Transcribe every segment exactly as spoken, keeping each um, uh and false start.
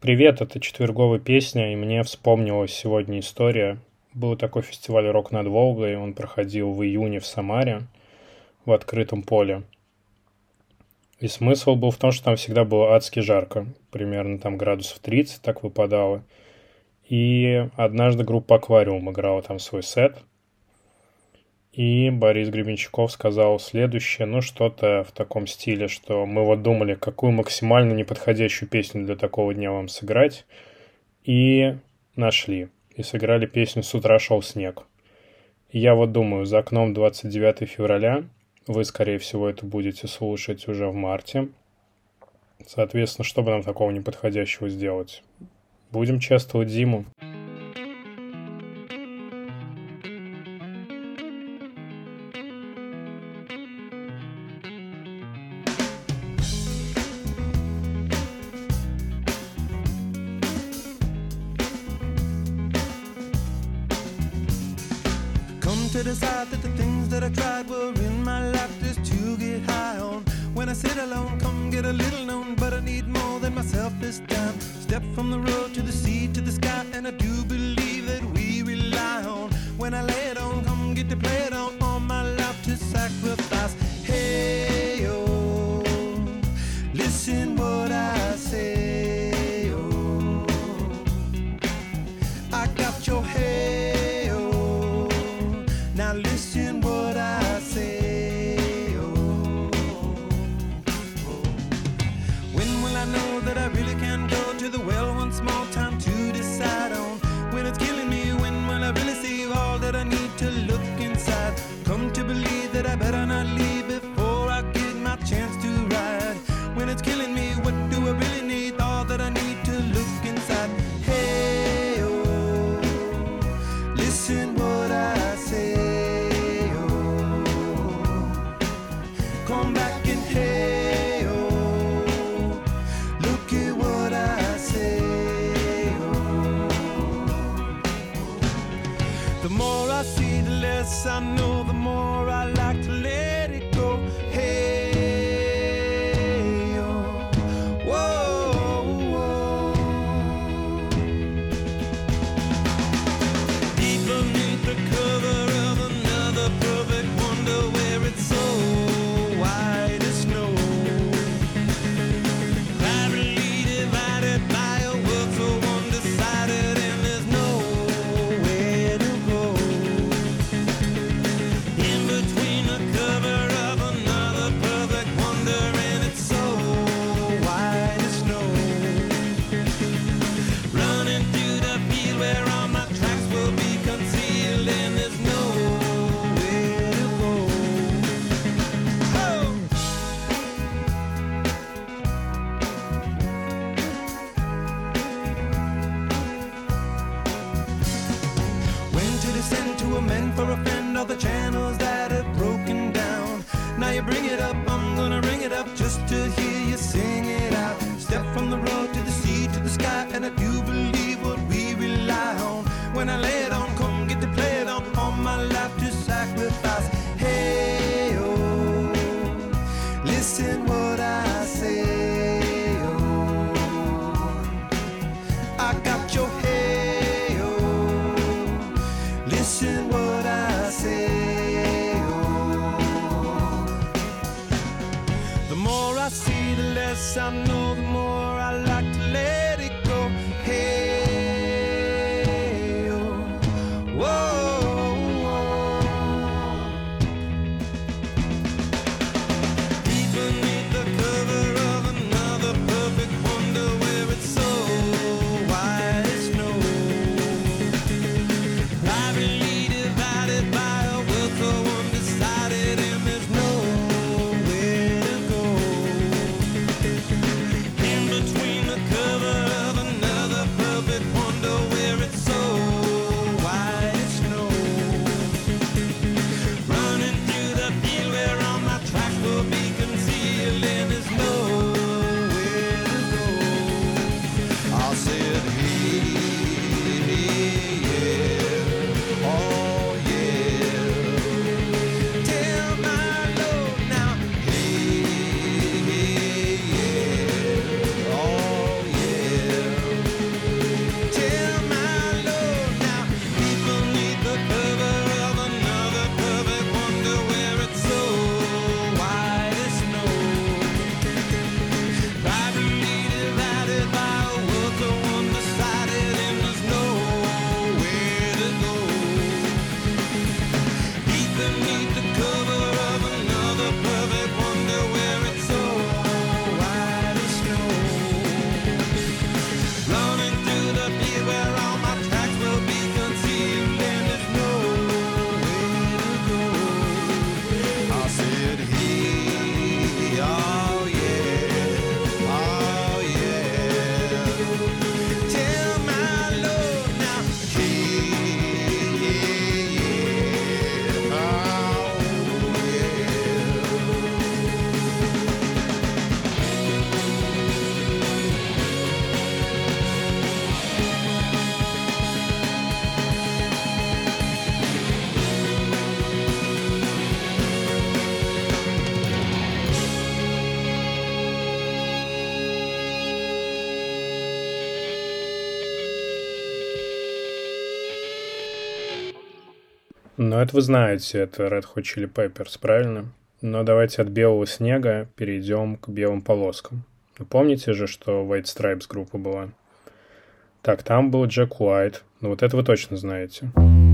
Привет, это четверговая песня, и мне вспомнилась сегодня история. Был такой фестиваль «Рок над Волгой», он проходил в июне в Самаре, в открытом поле. И смысл был в том, что там всегда было адски жарко, примерно там градусов тридцать так выпадало. И однажды группа «Аквариум» играла там свой сет, и Борис Гребенщиков сказал следующее, ну что-то в таком стиле, что мы вот думали, какую максимально неподходящую песню для такого дня вам сыграть, и нашли. И сыграли песню «С утра шел снег». И я вот думаю, за окном двадцать девятого февраля, вы, скорее всего, это будете слушать уже в марте. Соответственно, что бы нам такого неподходящего сделать? Будем чествовать зиму. To decide that the things that I tried were in my life just to get high on. When I sit alone, come get a little known, but I need more than myself this time. Step from the road to the sea to the sky, and I do believe that we rely on. When I lay it on, come get to play it on, all my life to sacrifice. Hey, oh, listen what I say, oh, I got your head. Now listen what I say, oh, oh. When will I know that I really can go to the well one small time to decide on? When it's killing me, when will I really see all that I need to look inside? Come to believe that I better not leave before I get my chance to ride. When it's killing me, what do I really need? All that I need to look inside. Hey, oh, listen what I say. Come back and hey, oh, look at what I say, oh. The more I see, the less I know, the more I like to let it go. Hey, oh, whoa, whoa. Deep beneath the cover of another perfect wonder where it's so white as snow, privately divided by a world so undecided, and there's nowhere to go. In between the cover of another perfect wonder, and it's so white as snow, running through the field where all my tracks will be concealed, and there's nowhere to go. Send to amend for a friend all the channels that have broken down. Now you bring it up, I'm gonna ring it up just to hear you sing it out. Step from the road to the sea to the sky, and I do believe what we rely on. When I lay it on, come get to play it on, all my life to sacrifice. Hey, oh, listen what I say, oh, I got your head. Listen what I say, oh. The more I see, the less I know, the more I like to let it go. Hey, oh, whoa, whoa. Deep beneath the cover of another perfect wonder where it's so white as snow, privately divided by a world so undecided, and there's nowhere to go. In between the cover of another perfect wonder where it's so white as snow, running through the field where all my tracks will be concealed, and there's nowhere to go. I'll say it, hey, yeah, oh yeah. Tell my Lord now, hey, hey, yeah, oh yeah. Ну, это вы знаете, это Red Hot Chili Peppers, правильно? Но давайте от белого снега перейдем к белым полоскам. Вы помните же, что White Stripes группа была? Так, там был Джек Уайт. Ну, вот это вы точно знаете.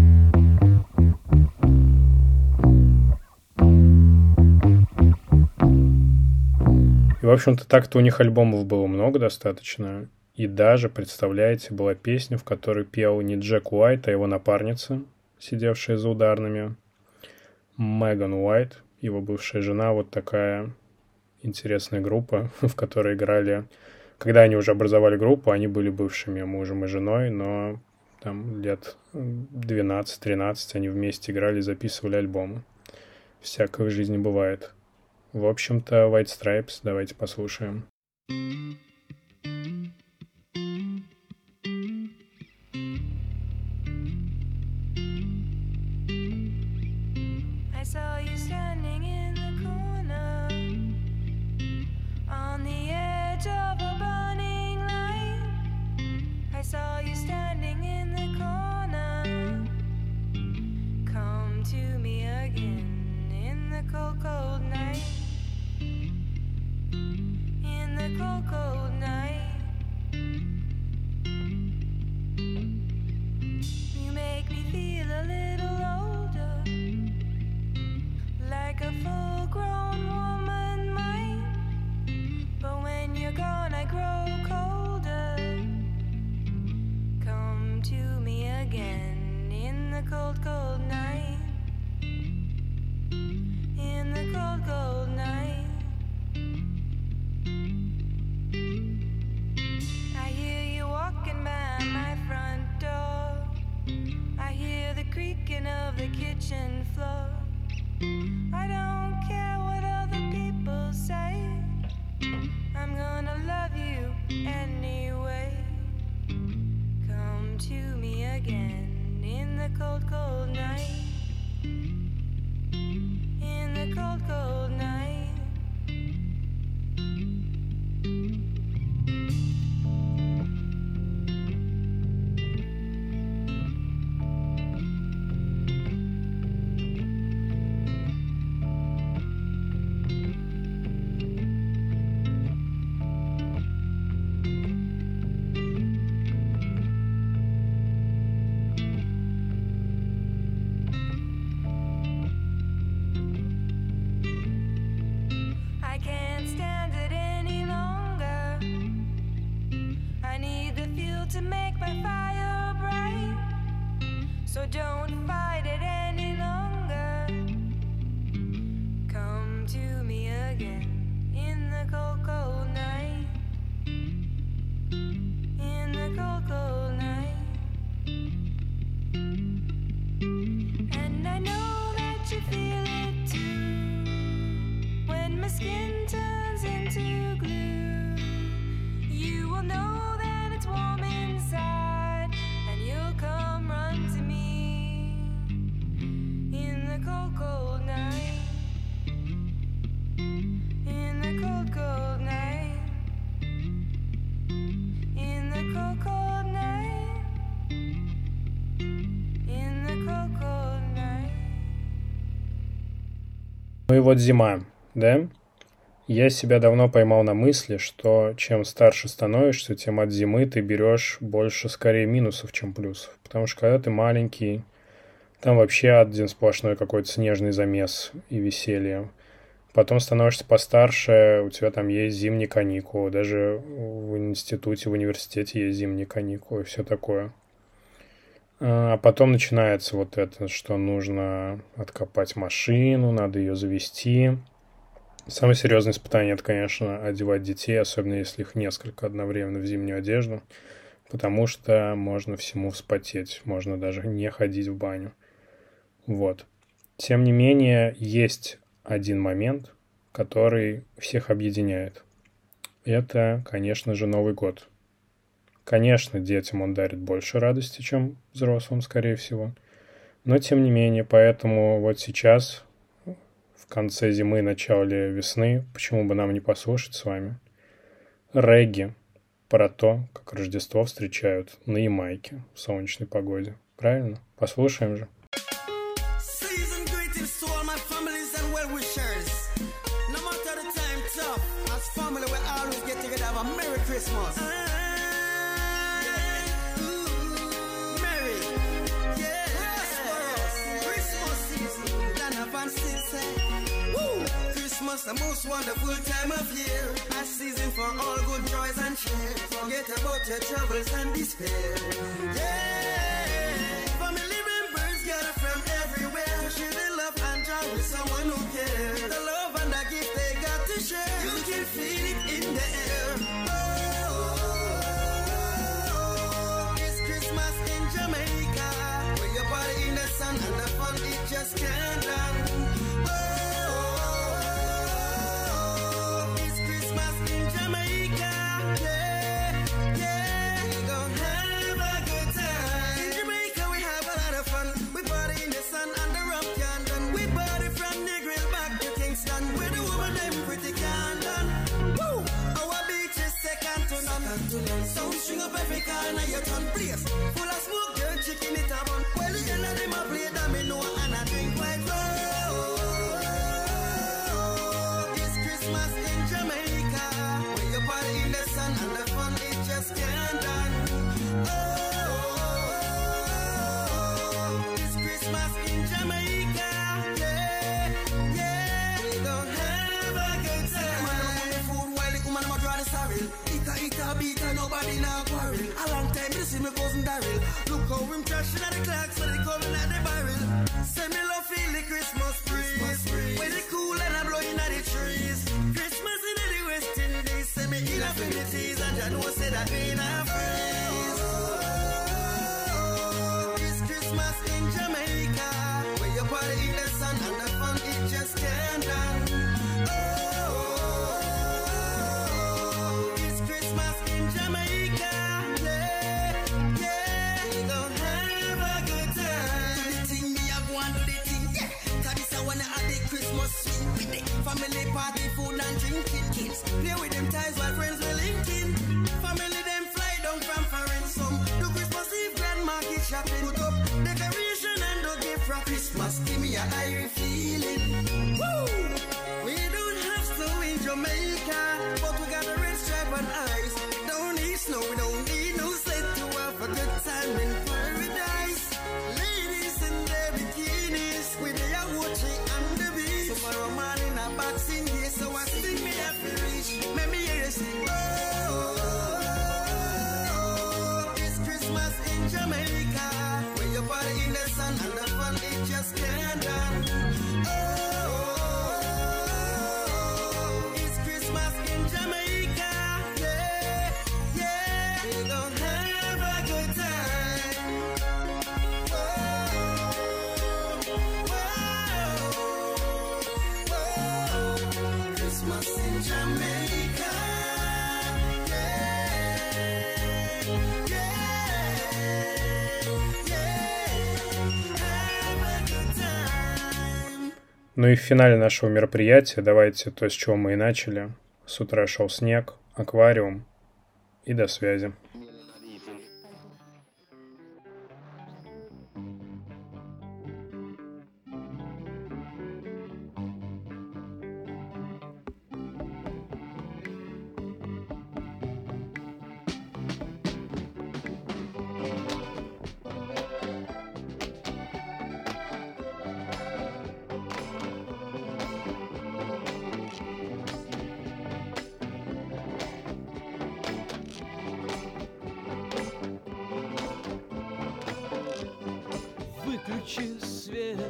И, в общем-то, так-то у них альбомов было много достаточно. И даже, представляете, была песня, в которой пел не Джек Уайт, а его напарница, сидевшая за ударными, Меган Уайт, его бывшая жена. Вот такая интересная группа, в которой играли... Когда они уже образовали группу, они были бывшими мужем и женой, но там лет двенадцать-тринадцать они вместе играли и записывали альбомы. Всякое в жизни бывает. В общем-то, White Stripes давайте послушаем. I saw you standing in the corner on the edge of a burning light. I saw you standing in the corner. Come to me again in the cold, cold night. In the cold, cold night. You make me feel a little older, like a full-grown woman might. But when you're gone, I grow colder. Come to me again in the cold, cold night. In the cold, cold night. I hear you walking by my front door. I hear the creaking of the kitchen floor. I don't care what other people say. I'm gonna love you anyway. Come to me again in the cold, cold night. In the cold, cold night. I can't stand it any longer. I need the fuel to make my fire bright. So don't fight it any longer. Come to me again in the cold, cold night. In the cold, cold night. And I know that you feel it too. When my skin turns into glue, you will know that it's warm inside, and you'll come run to me in the cold, cold night. In the cold, cold night. In the cold, cold night. In the cold, cold night. Ну и вот зима, да? Я себя давно поймал на мысли, что чем старше становишься, тем от зимы ты берешь больше скорее минусов, чем плюсов. Потому что когда ты маленький, там вообще один сплошной какой-то снежный замес и веселье. Потом становишься постарше, у тебя там есть зимние каникулы, даже в институте, в университете есть зимние каникулы и все такое. А потом начинается вот это, что нужно откопать машину, надо ее завести. Самое серьезное испытание — это, конечно, одевать детей, особенно если их несколько одновременно в зимнюю одежду, потому что можно всему вспотеть, можно даже не ходить в баню. Вот. Тем не менее, есть один момент, который всех объединяет. Это, конечно же, Новый год. Конечно, детям он дарит больше радости, чем взрослым, скорее всего. Но, тем не менее, поэтому вот сейчас, в конце зимы, начале весны, почему бы нам не послушать с вами регги про то, как Рождество встречают на Ямайке в солнечной погоде. Правильно? Послушаем же. Merry Christmas. Ah, yeah. Ooh, Merry. Yeah. Christmas season. Land of and still say. Woo. Christmas, the most wonderful time of year. A season for all good joys and cheer. Forget about your troubles and despair. Yeah. Family members gather from everywhere to share the love and joy with someone who cares. The love and the gift they got to share. You can feel it in the air. Oh, it's Christmas in Jamaica, where your body in the sun and the fun it just can't done. Sound string up every corner you turn place. Full of smoke, girl, chicken it up on. Well, the end of them a play that me know and I drink quite low. It's Christmas in Jamaica, where you party in the sun and the fun it just can't done. Oh, it's Christmas in Jamaica, yeah, yeah. We gon' have a good time. Man, I'm on the food while the woman am a draw the sorrel. It a beat and nobody now quarrel. A long time you see me cousin Daryl. Look how him trashing at the clocks so they coming at the barrel. Say me love feel the Christmas breeze. When it cool and I'm blowing at the trees. Christmas in the West Indies. Say me in affinities and I know say that we not freeze. It's Christmas in Jamaica, where you party in the sun and the fun it just can't done. Family party, food and drinking. Kids play with them ties while friends will linking. Family them fly down from foreign. Some do Christmas Eve grand market shopping. Put up decoration and do gift for Christmas. Give me a airy feeling. Woo! We don't have snow in Jamaica, but we got a red stripe on ice. Don't need snow, we don't need no sled to have a good time in paradise. Ladies in their bikinis with their watching on the beach. Tomorrow morning boxing day, so I sing me happy reach. Let me hear you sing. Oh, it's Christmas in Jamaica, where you party in the sun and the fun it just can't done. Oh, it's Christmas in Jamaica, yeah, yeah. We gon' have a good time. Oh, Christmas in Jamaica, yeah, yeah, yeah, have a good time. Ну и в финале нашего мероприятия давайте то, с чего мы и начали. С утра шел снег, аквариум и до связи. Выключи свет,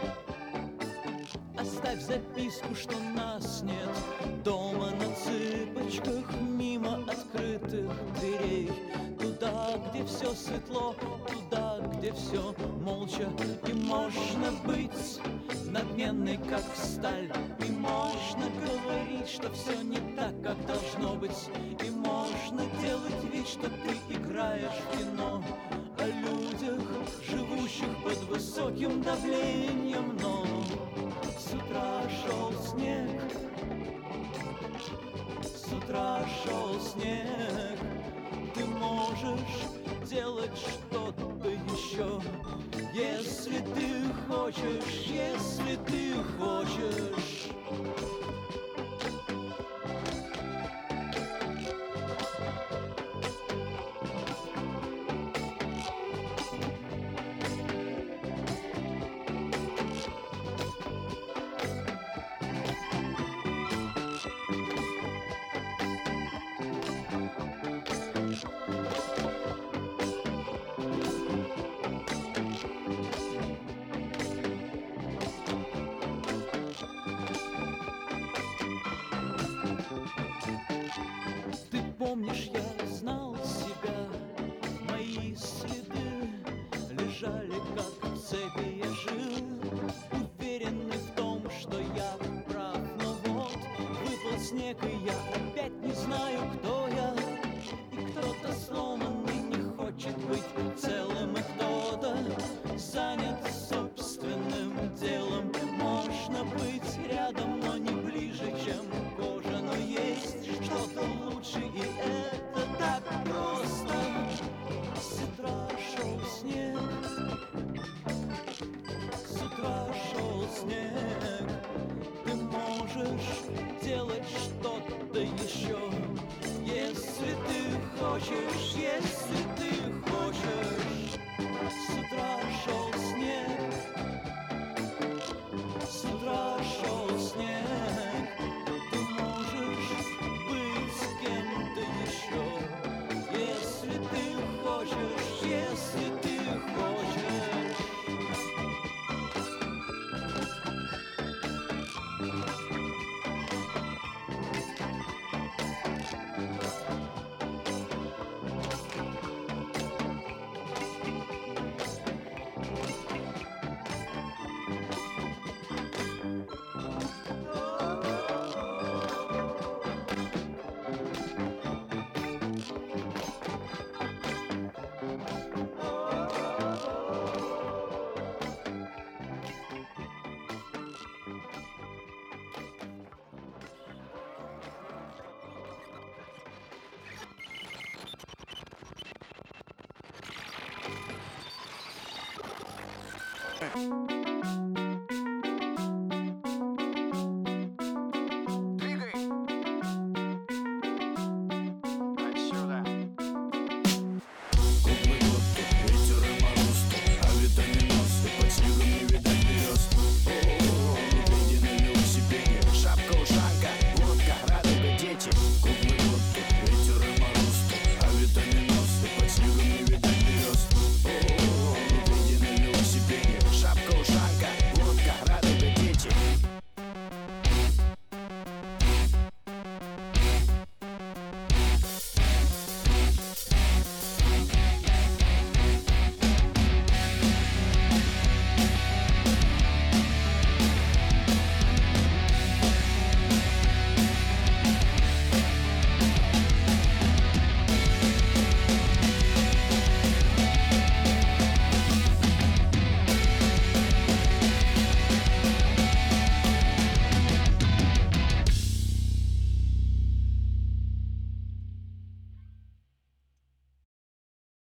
оставь записку, что нас нет дома на цыпочках, мимо открытых дверей. Туда, где все светло, туда, где все молча. И можно быть надменной, как сталь. И можно говорить, что все не так, как должно быть. И можно делать вид, что ты играешь в кино о людях, живущих под высоким давлением. Но с утра шел снег, с утра шел снег. Ты можешь делать что-то еще, если ты хочешь, если ты хочешь. снег, и я опять не знаю, кто я. И кто-то сломанный не хочет быть целым, и кто-то занят собственным делом. Можно быть рядом, но не ближе, чем кожа, но есть что-то лучше, и это так просто. С утра шел снег, с утра шел снег. Ты можешь делать что-то еще, если ты хочешь, если ты хочешь. С утра шел снег, с утра шел снег. Ты можешь быть с кем-то еще, если ты хочешь, если ты хочешь. Thanks.